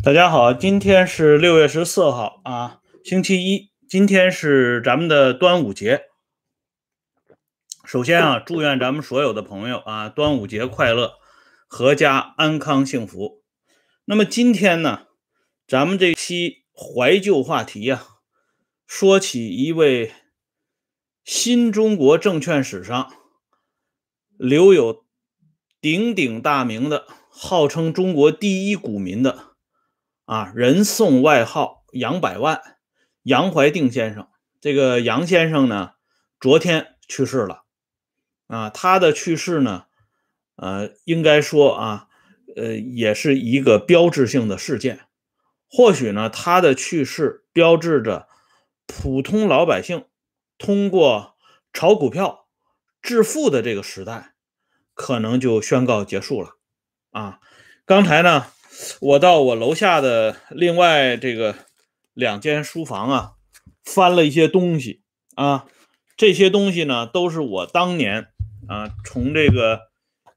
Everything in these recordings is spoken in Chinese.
大家好，今天是6月14号啊，星期一。今天是咱们的端午节。首先啊，祝愿咱们所有的朋友啊，端午节快乐，阖家安康幸福。那么今天呢，咱们这期怀旧话题啊，说起一位新中国证券史上留有鼎鼎大名的，号称中国第一股民的人送外号杨百万，杨怀定先生。这个杨先生呢，昨天去世了他的去世呢，应该说也是一个标志性的事件。或许呢，他的去世标志着普通老百姓通过炒股票致富的这个时代可能就宣告结束了刚才呢，我到我楼下的另外这个2间书房翻了一些东西这些东西呢都是我当年从这个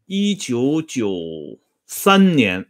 1993年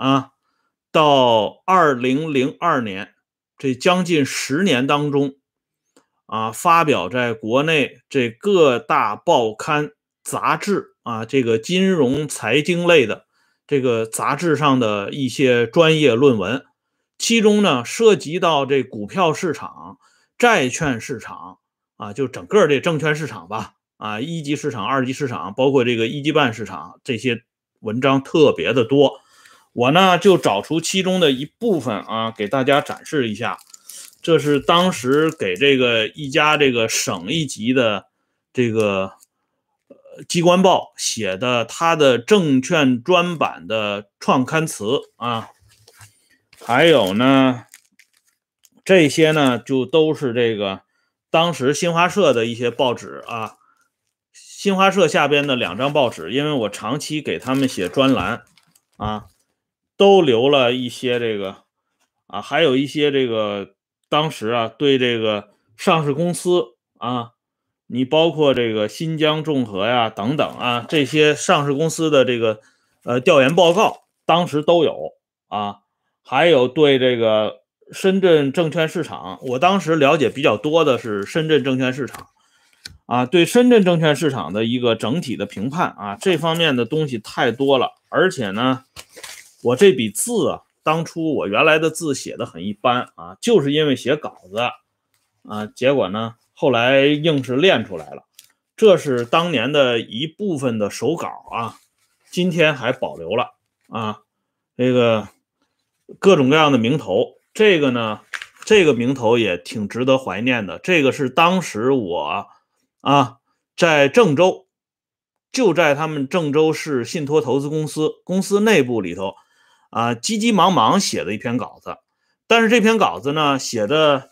到2002年这将近10年当中发表在国内这各大报刊杂志这个金融财经类的这个杂志上的一些专业论文，其中呢涉及到这股票市场、债券市场就整个这证券市场吧一级市场、二级市场，包括这个一级半市场，这些文章特别的多。我呢就找出其中的一部分给大家展示一下。这是当时给这个一家这个省一级的这个机关报写的他的证券专版的创刊词还有呢这些呢就都是这个当时新华社的一些报纸新华社下边的2张报纸，因为我长期给他们写专栏都留了一些这个还有一些这个当时对这个上市公司你包括这个新疆众和呀等等这些上市公司的这个调研报告当时都有还有对这个深圳证券市场，我当时了解比较多的是深圳证券市场对深圳证券市场的一个整体的评判这方面的东西太多了。而且呢，我这笔字当初我原来的字写的很一般就是因为写稿子结果呢后来硬是练出来了。这是当年的一部分的手稿今天还保留了这个各种各样的名头。这个呢，这个名头也挺值得怀念的。这个是当时我在郑州，就在他们郑州市信托投资公司内部里头急急忙忙写的一篇稿子。但是这篇稿子呢写的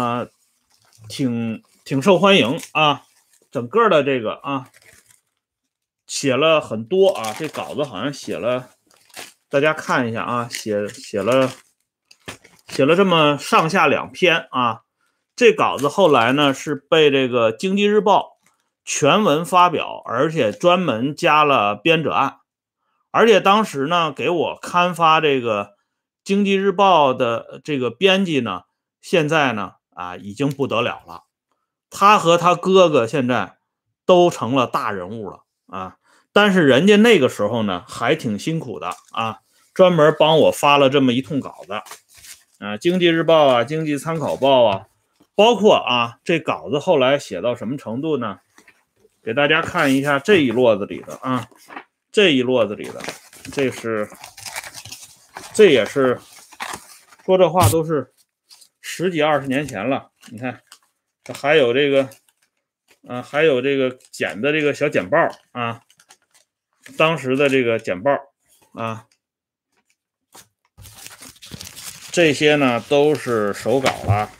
挺受欢迎整个的这个写了很多这稿子好像写了，大家看一下写了这么上下2篇这稿子后来呢是被这个经济日报全文发表，而且专门加了编者按。而且当时呢给我刊发这个经济日报的这个编辑呢，现在呢已经不得了了。他和他哥哥现在都成了大人物了但是人家那个时候呢还挺辛苦的专门帮我发了这么一通稿子经济日报经济参考报包括这稿子后来写到什么程度呢？给大家看一下这一摞子里的这一摞子里的，这也是说这话都是10几20年前了。你看这还有这个还有这个剪的这个小简报当时的这个简报这些呢都是手稿了。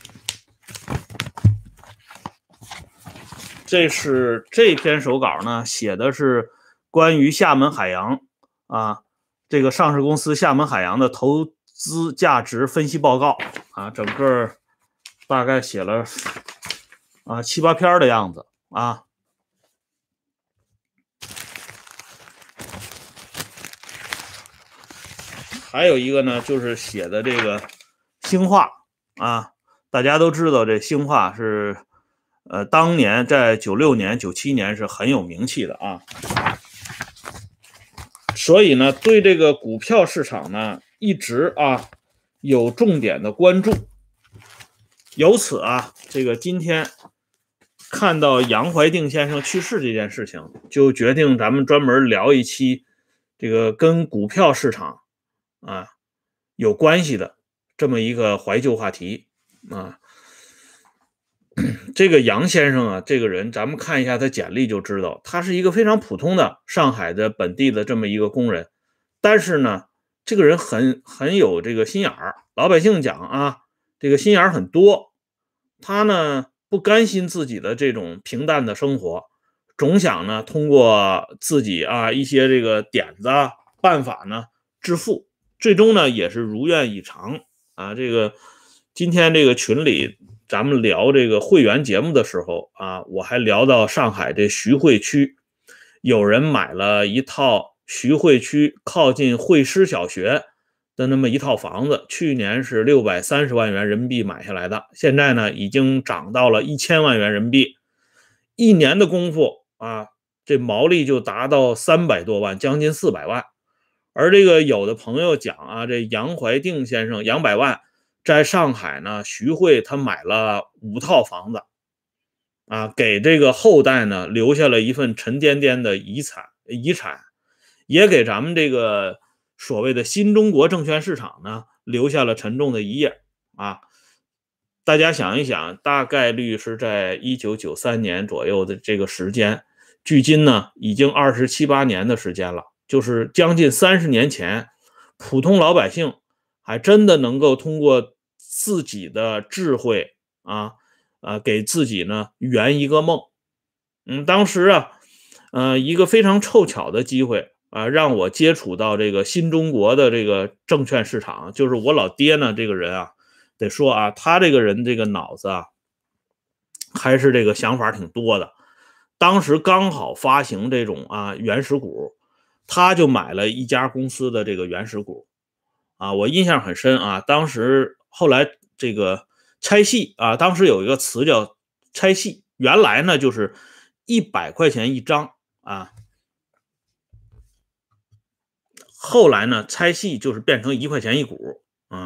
这篇手稿呢写的是关于厦门海洋这个上市公司厦门海洋的投资价值分析报告整个大概写了7、8篇的样子还有一个呢，就是写的这个兴化啊，大家都知道这兴化是当年在96年、97年是很有名气的啊。所以呢，对这个股票市场呢，一直有重点的关注。由此这个今天看到杨怀定先生去世这件事情，就决定咱们专门聊一期这个跟股票市场有关系的这么一个怀旧话题啊。这个杨先生这个人咱们看一下他简历就知道，他是一个非常普通的上海的本地的这么一个工人，但是呢，这个人很有这个心眼儿，老百姓讲这个心眼儿很多。他呢不甘心自己的这种平淡的生活，总想呢通过自己一些这个点子办法呢致富，最终呢也是如愿以偿这个今天这个群里咱们聊这个会员节目的时候我还聊到上海这徐汇区有人买了一套徐汇区靠近汇师小学的那么一套房子，去年是630万元人民币买下来的，现在呢已经涨到了1000万元人民币，一年的功夫这毛利就达到300多万，将近400万。而这个有的朋友讲这杨怀定先生杨百万在上海呢徐汇他买了5套房子给这个后代呢留下了一份沉甸甸的遗产，也给咱们这个所谓的新中国证券市场呢留下了沉重的一页大家想一想，大概率是在1993年左右的这个时间，距今呢已经27、8年的时间了，就是将近30年前，普通老百姓还真的能够通过自己的智慧给自己呢圆一个梦。当时一个非常凑巧的机会让我接触到这个新中国的这个证券市场，就是我老爹呢这个人得说他这个人这个脑子还是这个想法挺多的。当时刚好发行这种原始股，他就买了一家公司的这个原始股我印象很深当时后来这个拆细当时有一个词叫拆细，原来呢就是100块钱一张后来呢拆细就是变成1块钱一股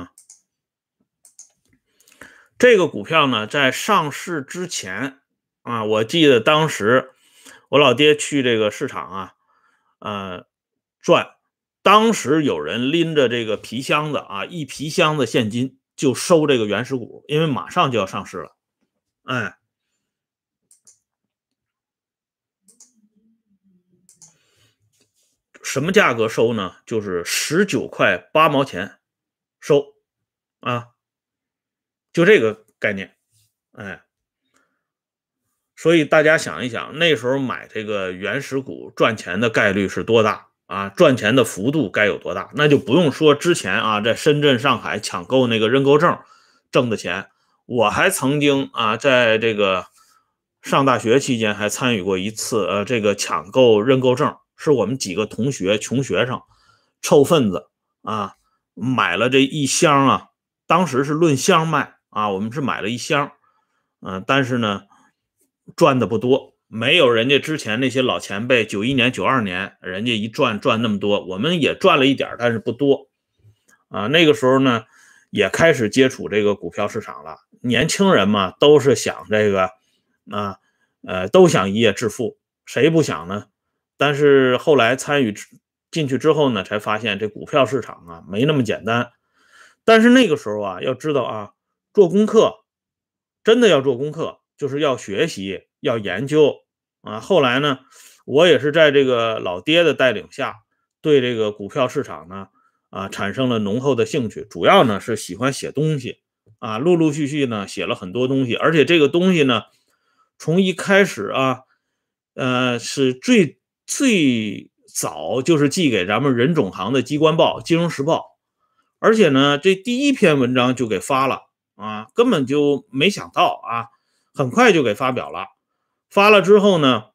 这个股票呢在上市之前我记得当时我老爹去这个市场转，当时有人拎着这个皮箱子一皮箱子现金就收这个原始股，因为马上就要上市了。什么价格收呢？就是19块8毛钱收就这个概念所以大家想一想，那时候买这个原始股赚钱的概率是多大赚钱的幅度该有多大？那就不用说之前在深圳、上海抢购那个认购证挣的钱。我还曾经在这个上大学期间还参与过一次这个抢购认购证，是我们几个同学穷学生凑份子买了这一箱当时是论箱卖我们是买了一箱但是呢赚的不多，没有人家之前那些老前辈91年、92年人家一赚那么多，我们也赚了一点，但是不多那个时候呢也开始接触这个股票市场了。年轻人嘛都是想这个都想一夜致富，谁不想呢？但是后来参与进去之后呢，才发现这股票市场没那么简单。但是那个时候要知道做功课真的要做功课，就是要学习要研究后来呢我也是在这个老爹的带领下对这个股票市场呢产生了浓厚的兴趣，主要呢是喜欢写东西陆陆续续呢写了很多东西，而且这个东西呢从一开始是最早就是寄给咱们人总行的机关报《金融时报》，而且呢这第一篇文章就给发了根本就没想到很快就给发表了。发了之后呢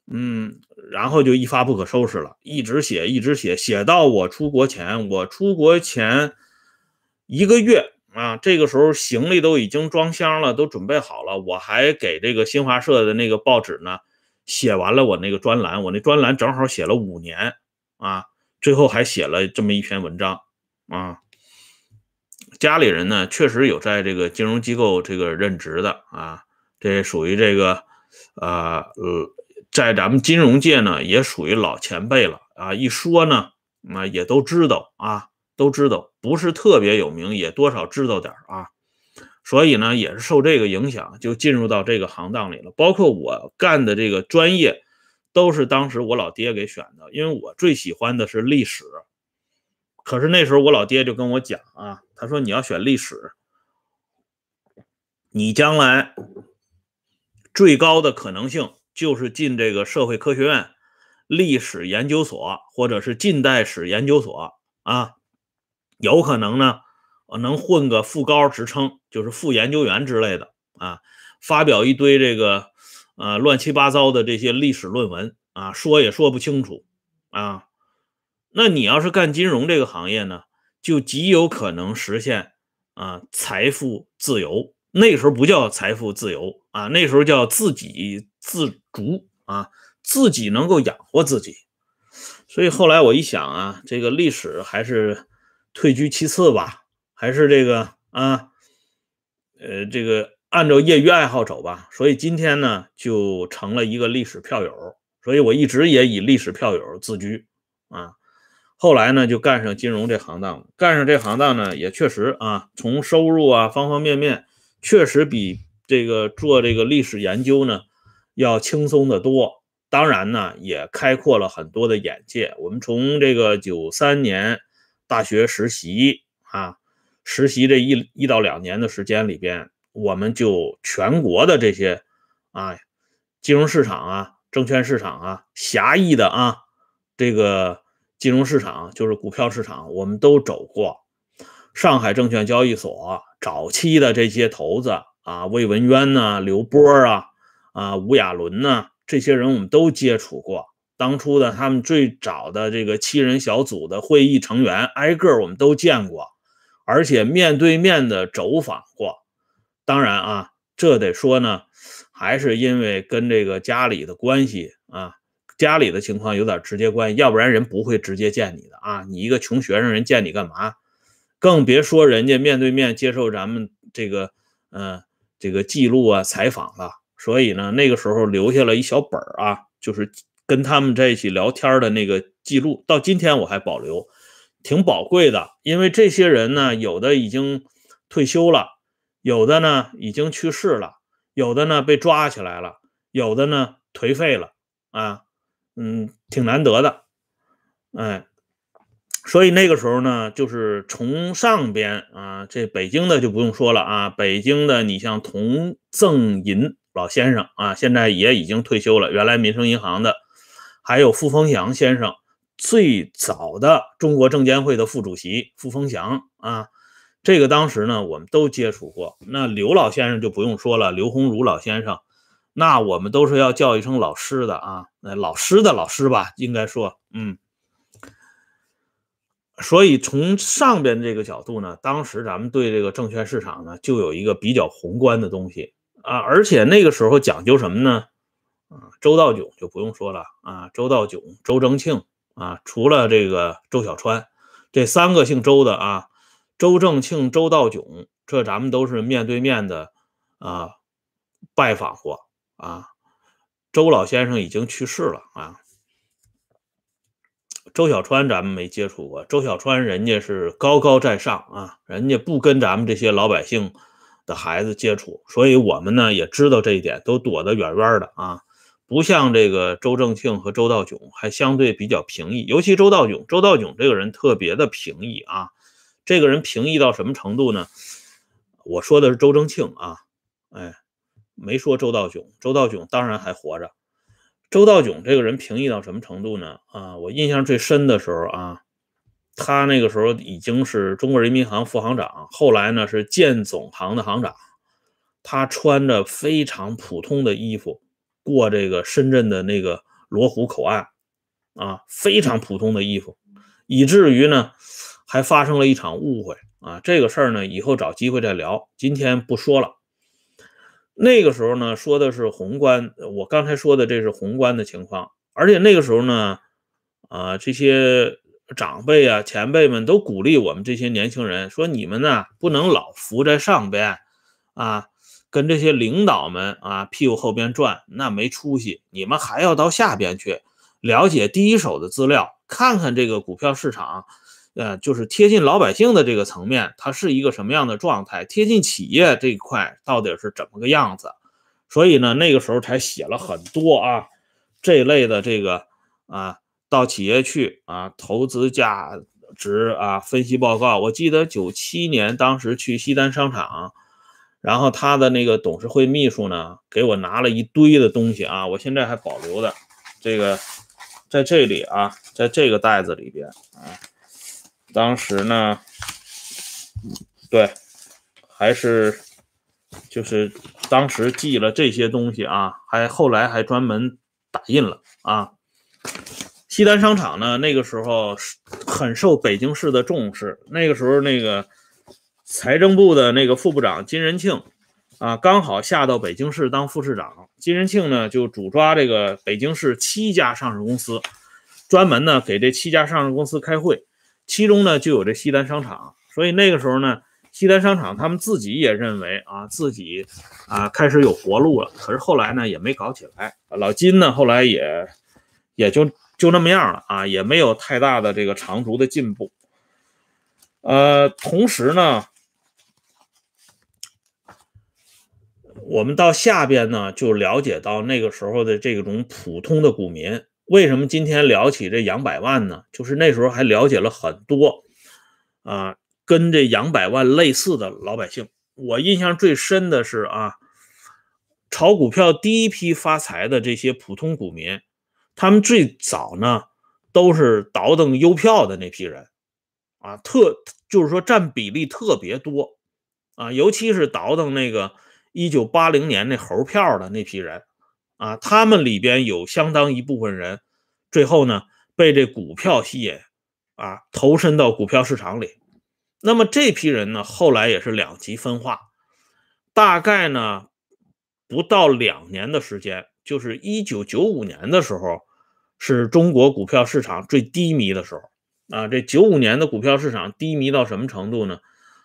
然后就一发不可收拾了，一直写一直写，写到我出国前，我出国前1个月啊，这个时候行李都已经装箱了，都准备好了，我还给这个新华社的那个报纸呢写完了我那个专栏，我那专栏正好写了5年啊，最后还写了这么一篇文章啊。家里人呢确实有在这个金融机构这个任职的啊，这属于这个在咱们金融界呢也属于老前辈了啊，一说呢也都知道啊，都知道，不是特别有名，也多少知道点啊。所以呢，也是受这个影响，就进入到这个行当里了。包括我干的这个专业，都是当时我老爹给选的，因为我最喜欢的是历史。可是那时候我老爹就跟我讲啊，他说你要选历史，你将来最高的可能性就是进这个社会科学院历史研究所，或者是近代史研究所啊，有可能呢能混个副高职称，就是副研究员之类的啊，发表一堆这个乱七八糟的这些历史论文啊，说也说不清楚啊。那你要是干金融这个行业呢，就极有可能实现财富自由。那时候不叫财富自由啊，那时候叫自给自足啊，自己能够养活自己。所以后来我一想啊，这个历史还是退居其次吧，还是这个这个按照业余爱好走吧。所以今天呢，就成了一个历史票友，所以我一直也以历史票友自居啊。后来呢，就干上金融这行当了。干上这行当呢，也确实啊，从收入啊方方面面，确实比这个做这个历史研究呢要轻松得多。当然呢，也开阔了很多的眼界。我们从这个93年大学实习啊，实习这一到2年的时间里边，我们就全国的这些金融市场啊、证券市场啊、狭义的这个金融市场就是股票市场，我们都走过。上海证券交易所早期的这些头子魏文渊呐、刘波吴亚伦呐，这些人我们都接触过。当初的他们最早的这个7人小组的会议成员，挨个我们都见过，而且面对面的走访过。当然这得说呢，还是因为跟这个家里的关系家里的情况有点直接关系，要不然人不会直接见你的你一个穷学生，人见你干嘛？更别说人家面对面接受咱们这个记录采访了。所以呢，那个时候留下了一小本就是跟他们在一起聊天的那个记录，到今天我还保留，挺宝贵的。因为这些人呢，有的已经退休了，有的呢已经去世了，有的呢被抓起来了，有的呢颓废了挺难得的。所以那个时候呢，就是从上边这北京的就不用说了北京的你像童赠银老先生现在也已经退休了，原来民生银行的，还有傅风祥先生，最早的中国证监会的副主席傅风祥这个当时呢我们都接触过。那刘老先生就不用说了，刘鸿儒老先生，那我们都是要叫一声老师的老师的老师吧，应该说所以从上边这个角度呢，当时咱们对这个证券市场呢就有一个比较宏观的东西而且那个时候讲究什么呢周道炯就不用说了周道炯、周正庆除了这个周小川，这3个姓周的周正庆、周道炯，这咱们都是面对面的拜访过周老先生已经去世了周小川咱们没接触过，周小川人家是高高在上人家不跟咱们这些老百姓的孩子接触，所以我们呢也知道这一点，都躲得远远的不像这个周正庆和周道炯还相对比较平易，尤其周道炯这个人特别的平易这个人平易到什么程度呢？我说的是周正庆没说周道炯，周道炯当然还活着。周道炯这个人平易到什么程度呢？我印象最深的时候他那个时候已经是中国人民银行副行长，后来呢是建总行的行长。他穿着非常普通的衣服过这个深圳的那个罗湖口岸啊，非常普通的衣服，以至于呢还发生了一场误会啊。这个事儿呢以后找机会再聊，今天不说了。那个时候呢说的是宏观，我刚才说的这是宏观的情况，而且那个时候呢这些长辈啊前辈们都鼓励我们这些年轻人说，你们呢不能老浮在上边啊，跟这些领导们啊屁股后边转，那没出息，你们还要到下边去了解第一手的资料，看看这个股票市场就是贴近老百姓的这个层面，它是一个什么样的状态，贴近企业这一块到底是怎么个样子。所以呢那个时候才写了很多这一类的这个到企业去投资价值分析报告。我记得97年当时去西单商场，然后他的那个董事会秘书呢给我拿了一堆的东西我现在还保留的，这个在这里在这个袋子里边当时呢对还是就是当时寄了这些东西还后来还专门打印了西单商场呢那个时候很受北京市的重视，那个时候那个财政部的那个副部长金仁庆刚好下到北京市当副市长，金仁庆呢就主抓这个北京市7家上市公司，专门呢给这7家上市公司开会，其中呢就有这西单商场。所以那个时候呢西单商场他们自己也认为自己开始有活路了，可是后来呢也没搞起来，老金呢后来也就那么样了也没有太大的这个长足的进步。同时呢我们到下边呢就了解到那个时候的这种普通的股民。为什么今天聊起这杨百万呢？就是那时候还了解了很多跟这杨百万类似的老百姓。我印象最深的是炒股票第一批发财的这些普通股民，他们最早呢都是倒腾邮票的那批人就是说占比例特别多尤其是倒腾那个1980年那猴票的那批人他们里边有相当一部分人最后呢被这股票吸引投身到股票市场里。那么这批人呢后来也是两极分化，大概呢不到2年的时间，就是1995年的时候是中国股票市场最低迷的时候这95年的股票市场低迷到什么程度呢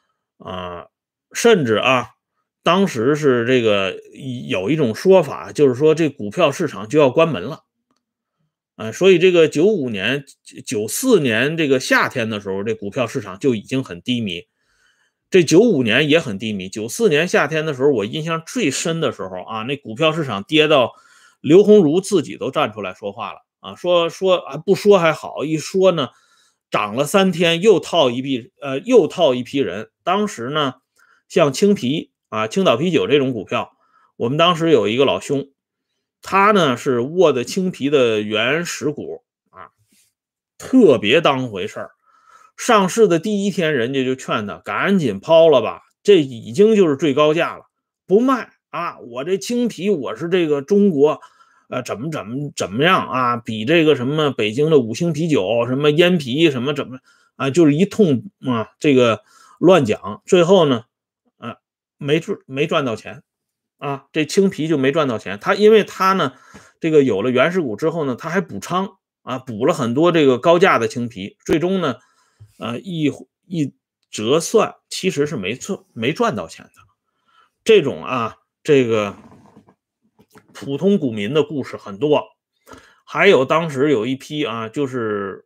甚至当时是这个有一种说法，就是说这股票市场就要关门了所以这个95年94年这个夏天的时候，这股票市场就已经很低迷，这95年也很低迷。94年夏天的时候，我印象最深的时候那股票市场跌到刘鸿儒自己都站出来说话了说不说还好，一说呢涨了3天又套一批人。当时呢像青岛啤酒这种股票，我们当时有一个老兄，他呢是握的青啤的原始股特别当回事儿。上市的第1天，人家就劝他赶紧抛了吧，这已经就是最高价了，不卖我这青啤我是这个中国怎么样比这个什么北京的5星啤酒什么烟啤什么就是一通这个乱讲，最后呢没赚到钱这青啤就没赚到钱。因为他呢这个有了原始股之后呢，他还补仓补了很多这个高价的青啤，最终呢一折算其实是没赚到钱的。这种这个普通股民的故事很多。还有当时有一批就是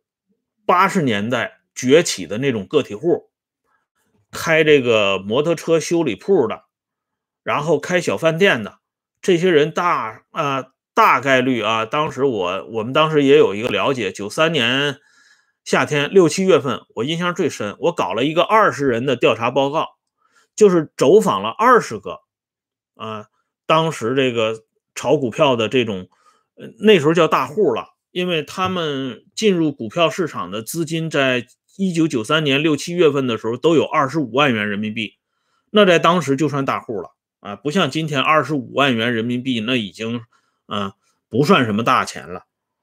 80年代崛起的那种个体户，开这个摩托车修理铺的，然后开小饭店的，这些人大概率当时我们当时也有一个了解，93年夏天6、7月份，我印象最深，我搞了一个20人的调查报告，就是走访了20个当时这个炒股票的这种那时候叫大户了，因为他们进入股票市场的资金在1993年6、7月份的时候都有25万元人民币，那在当时就算大户了不像今天25万元人民币那已经不算什么大钱了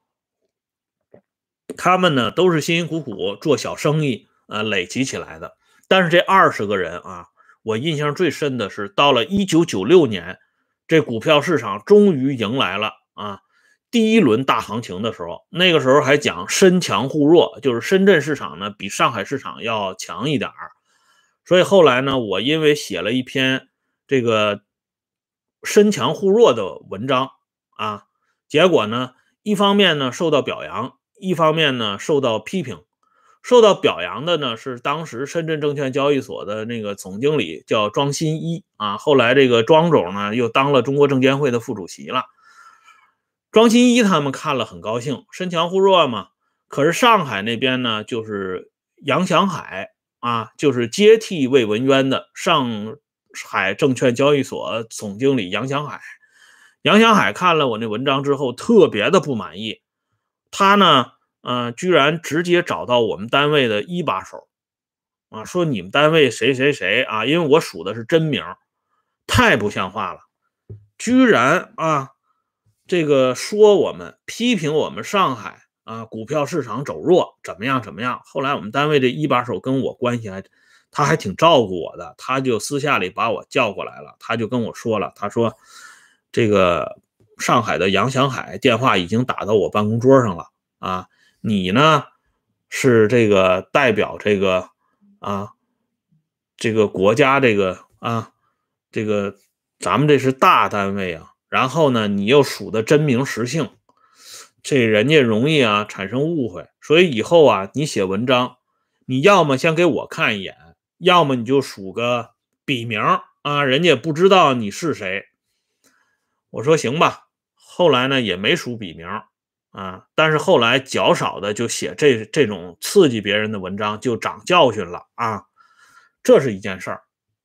他们呢都是辛辛苦苦做小生意累积起来的。但是这20个人啊，我印象最深的是到了1996年，这股票市场终于迎来了第一轮大行情的时候。那个时候还讲深强互弱，就是深圳市场呢比上海市场要强一点儿。所以后来呢，我因为写了一篇这个深强互弱的文章结果呢，一方面呢受到表扬，一方面呢受到批评。受到表扬的呢是当时深圳证券交易所的那个总经理叫庄新一后来这个庄总呢又当了中国证监会的副主席了。庄新一他们看了很高兴，深强互弱嘛。可是上海那边呢，就是杨祥海就是接替魏文渊的上海证券交易所总经理杨祥海。杨祥海看了我那文章之后特别的不满意，他呢居然直接找到我们单位的一把手说你们单位谁谁谁因为我数的是真名，太不像话了，居然这个说我们批评我们上海股票市场走弱怎么样怎么样。后来我们单位这一把手跟我关系他还挺照顾我的，他就私下里把我叫过来了，他就跟我说了，他说这个上海的杨祥海电话已经打到我办公桌上了你呢是这个代表这个这个国家这个这个咱们这是大单位然后呢你又数的真名实姓，这人家容易产生误会。所以以后你写文章，你要么先给我看一眼，要么你就数个笔名人家也不知道你是谁。我说行吧，后来呢也没数笔名但是后来较少的就写这种刺激别人的文章，就长教训了这是一件事儿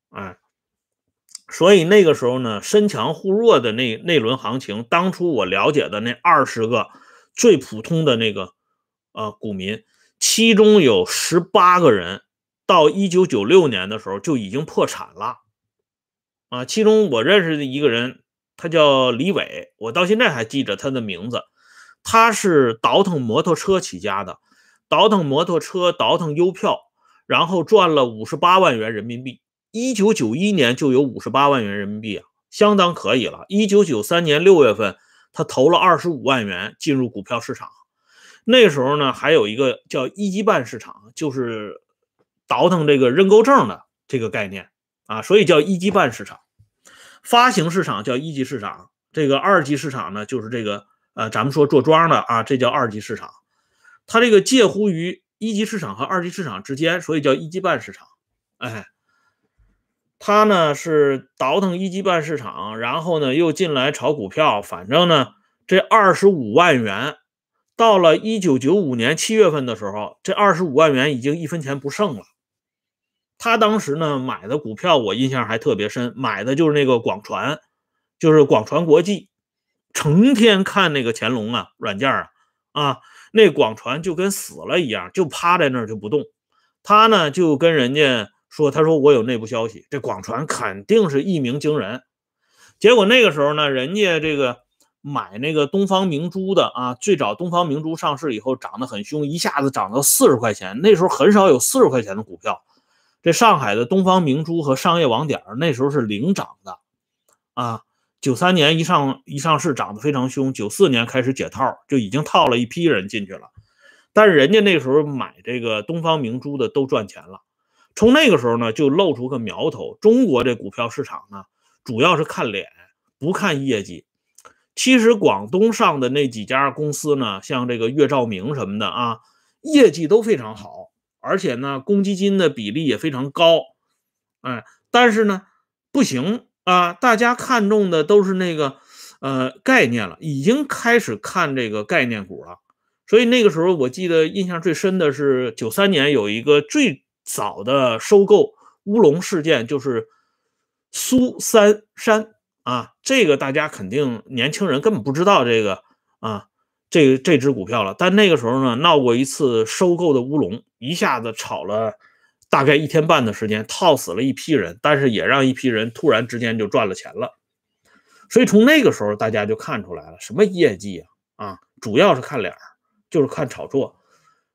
所以那个时候呢，深强互弱的那轮行情，当初我了解的那20个最普通的那个股民，其中有18个人到1996年的时候就已经破产了其中我认识的一个人，他叫李伟，我到现在还记着他的名字。他是倒腾摩托车起家的，倒腾摩托车，倒腾邮票，然后赚了58万元人民币。1991年就有58万元人民币相当可以了。1993年6月份，他投了25万元进入股票市场。那时候呢，还有一个叫一级办市场，就是倒腾这个认购证的这个概念所以叫一级办市场。发行市场叫一级市场，这个二级市场呢，就是这个咱们说做庄的这叫二级市场。它这个介乎于一级市场和二级市场之间，所以叫一级办市场。他呢是倒腾一级办市场，然后呢又进来炒股票，反正呢这25万元到了1995年7月份的时候，这25万元已经1分钱不剩了。他当时呢买的股票我印象还特别深，买的就是那个广传，就是广传国际，成天看那个乾隆软件那广传就跟死了一样，就趴在那儿就不动。他呢就跟人家说，他说我有内部消息，这广传肯定是一鸣惊人。结果那个时候呢，人家这个买那个东方明珠的最早东方明珠上市以后涨得很凶，一下子涨到40块钱，那时候很少有40块钱的股票。这上海的东方明珠和商业网点那时候是领涨的93年一上市涨得非常凶，94年开始解套，就已经套了一批人进去了。但是人家那时候买这个东方明珠的都赚钱了。从那个时候呢，就露出个苗头，中国这股票市场呢，主要是看脸，不看业绩。其实广东上的那几家公司呢，像这个粤兆明什么的业绩都非常好，而且呢，公积金的比例也非常高。但是呢，不行大家看中的都是那个概念了，已经开始看这个概念股了。所以那个时候我记得印象最深的是93年有一个最早的收购乌龙事件，就是苏三山这个大家肯定年轻人根本不知道这个这只股票了。但那个时候呢，闹过一次收购的乌龙，一下子炒了大概1天半的时间，套死了一批人，但是也让一批人突然之间就赚了钱了。所以从那个时候大家就看出来了，什么业绩主要是看脸，就是看炒作。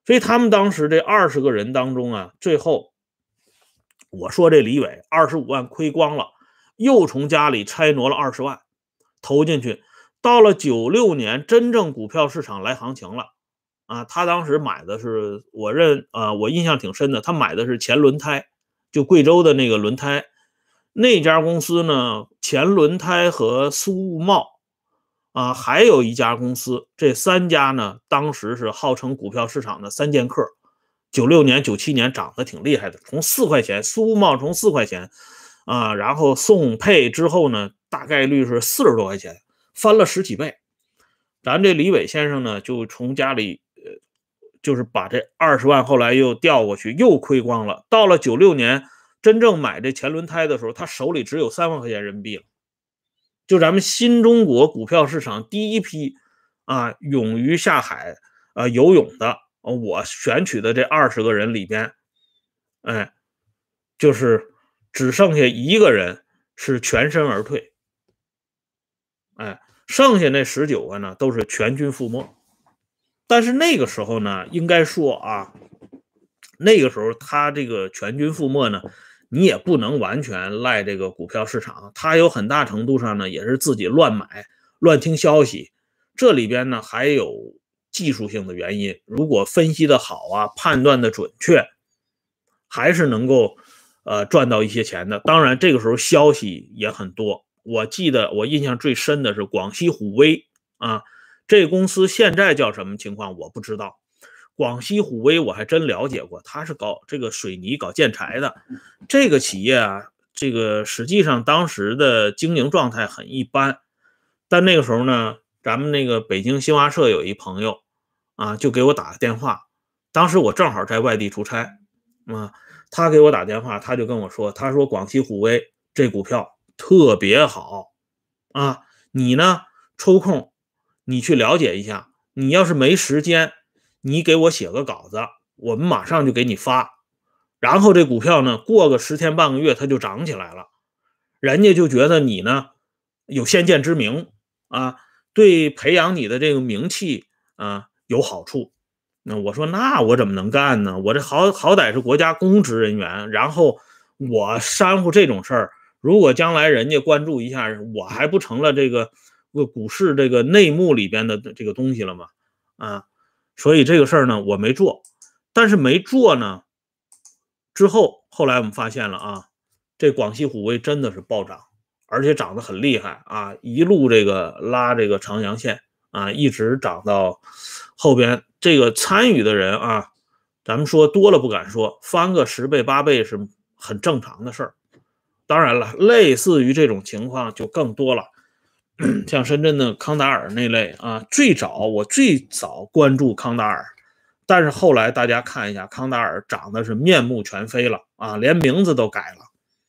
所以他们当时这20个人当中啊，最后我说这李伟25万亏光了，又从家里拆挪了20万投进去。到了96年，真正股票市场来行情了啊！他当时买的是我印象挺深的，他买的是前轮胎，就贵州的那个轮胎。那家公司呢，前轮胎和苏物贸啊，还有一家公司，这3家呢，当时是号称股票市场的3剑客。96年、97年涨得挺厉害的，从4块钱，苏物贸从4块钱啊，然后宋配之后呢，大概率是40多块钱，翻了10几倍。咱这李伟先生呢，就从家里就是把这20万后来又调过去，又亏光了。到了96年真正买这前轮胎的时候，他手里只有3万块钱人民币了。就咱们新中国股票市场第一批啊，勇于下海游泳的，我选取的这20个人里边，哎，就是只剩下一个人是全身而退，哎，剩下那19个呢都是全军覆没。但是那个时候呢，应该说啊，那个时候他这个全军覆没呢，你也不能完全赖这个股票市场，他有很大程度上呢也是自己乱买、乱听消息。这里边呢还有技术性的原因，如果分析的好啊，判断的准确，还是能够赚到一些钱的。当然，这个时候消息也很多。我记得我印象最深的是广西虎威啊，这公司现在叫什么情况我不知道。广西虎威我还真了解过，他是搞这个水泥、搞建材的。这个企业啊，这个实际上当时的经营状态很一般。但那个时候呢，咱们那个北京新华社有一朋友啊，就给我打个电话。当时我正好在外地出差啊，他给我打电话，他就跟我说，他说广西虎威这股票特别好啊，你呢抽空你去了解一下，你要是没时间，你给我写个稿子，我们马上就给你发。然后这股票呢，过个10天半个月，它就涨起来了。人家就觉得你呢有先见之明啊，对培养你的这个名气啊有好处。那我说，那我怎么能干呢？我这好歹是国家公职人员，然后我煽乎这种事儿，如果将来人家关注一下，我还不成了这个股市这个内幕里边的这个东西了吗？啊，所以这个事儿呢，我没做。但是没做呢，之后后来我们发现了啊，这广西虎威真的是暴涨，而且涨得很厉害啊，一路这个拉这个长阳线啊，一直涨到后边。这个参与的人啊，咱们说多了不敢说，翻个10倍8倍是很正常的事儿。当然了，类似于这种情况就更多了，像深圳的康达尔那类啊，我最早关注康达尔，但是后来大家看一下，康达尔涨的是面目全非了啊，连名字都改了。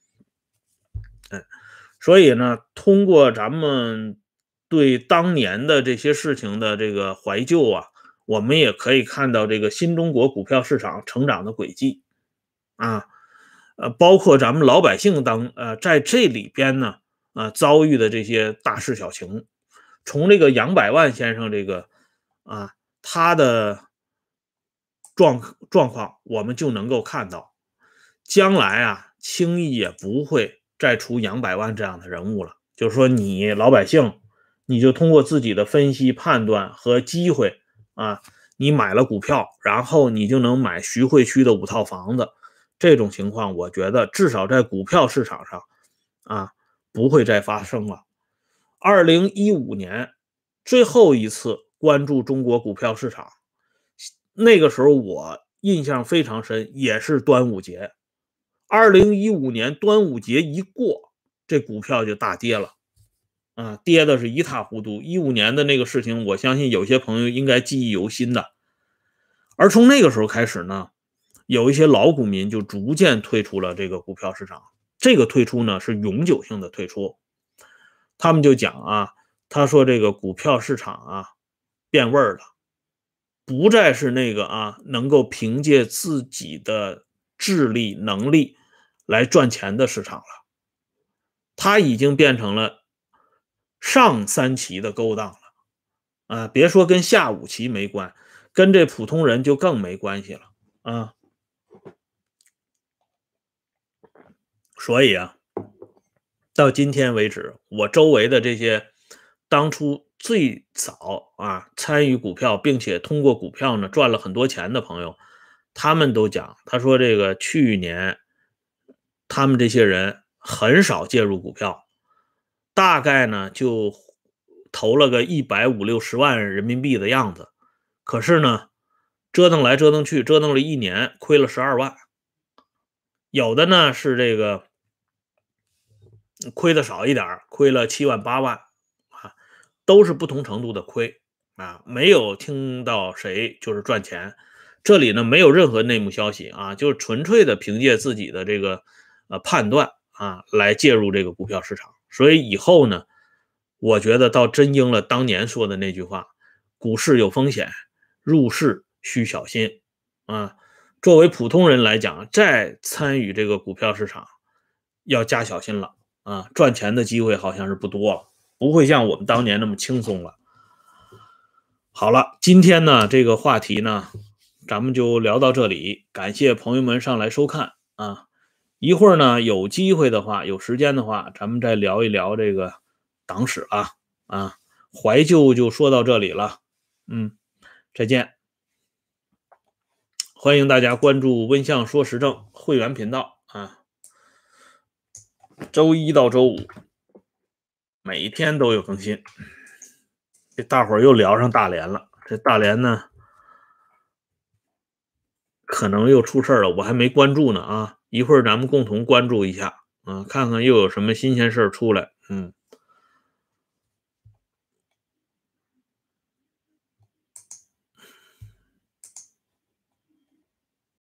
所以呢，通过咱们对当年的这些事情的这个怀旧啊，我们也可以看到这个新中国股票市场成长的轨迹啊，包括咱们老百姓在这里边呢，遭遇的这些大事小情，从这个杨百万先生这个啊他的状况，我们就能够看到，将来啊轻易也不会再出杨百万这样的人物了。就是说，你老百姓，你就通过自己的分析判断和机会啊，你买了股票，然后你就能买徐汇区的5套房子。这种情况，我觉得至少在股票市场上啊，不会再发生了。2015年最后一次关注中国股票市场，那个时候我印象非常深，也是端午节。2015年端午节一过，这股票就大跌了啊，跌的是一塌糊涂。15年的那个事情，我相信有些朋友应该记忆犹新的。而从那个时候开始呢，有一些老股民就逐渐退出了这个股票市场。这个退出呢是永久性的退出。他们就讲啊，他说这个股票市场啊变味儿了，不再是那个能够凭借自己的智力能力来赚钱的市场了，它已经变成了上3棋的勾当了啊！别说跟下5棋没关， 跟这普通人就更没关系了啊。所以啊，到今天为止，我周围的这些当初最早参与股票，并且通过股票呢赚了很多钱的朋友，他们都讲，他说这个去年他们这些人很少介入股票，大概呢就投了个150-160万人民币的样子，可是呢折腾来折腾去，折腾了1年，亏了12万。有的呢是这个亏的少一点，亏了7万-8万都是不同程度的亏没有听到谁就是赚钱。这里呢没有任何内幕消息就是纯粹的凭借自己的这个判断来介入这个股票市场。所以以后呢，我觉得倒真应了当年说的那句话：股市有风险，入市需小心作为普通人来讲，再参与这个股票市场要加小心了赚钱的机会好像是不多了，不会像我们当年那么轻松了。好了，今天呢这个话题呢咱们就聊到这里，感谢朋友们上来收看一会儿呢有机会的话，有时间的话，咱们再聊一聊这个党史怀旧就说到这里了。再见。欢迎大家关注温相说时政会员频道周一到周五每天都有更新。这大伙儿又聊上大连了，这大连呢可能又出事了，我还没关注呢一会儿咱们共同关注一下看看又有什么新鲜事儿出来。